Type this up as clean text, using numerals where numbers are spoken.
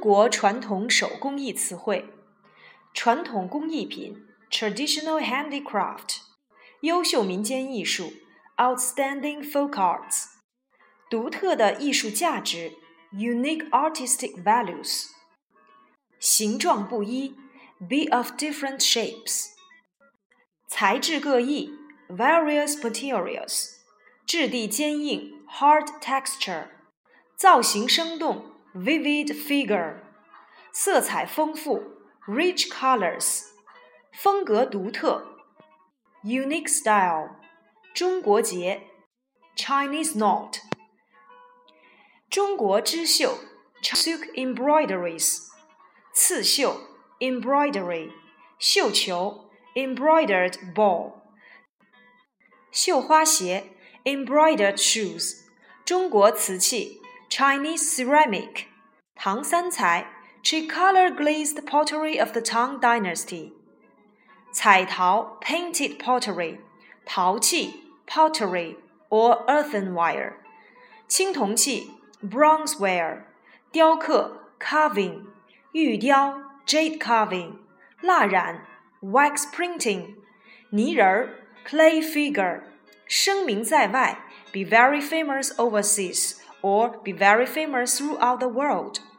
国传统手工艺词汇，传统工艺品 traditional handicraft， 优秀民间艺术 outstanding folk arts， 独特的艺术价值 unique artistic values， 形状不一 be of different shapes， 材质各异 various materials， 质地坚硬 hard texture， 造型生动 vivid figure， 色彩丰富 rich colors， 风格独特 unique style， 中国结 Chinese knot， 中国织绣 silk embroideries， 刺绣 embroidery， 绣球 embroidered ball， 绣花鞋 embroidered shoes， 中国瓷器 Chinese ceramic， 唐三彩 tricolor glazed pottery of the Tang Dynasty， 彩陶 painted pottery， 陶器 pottery or earthenware， 青铜器 bronzeware， 雕刻 carving， 玉雕 jade carving， 蜡染 wax printing， 泥人 clay figure， 声名在外 be very famous overseas or be very famous throughout the world。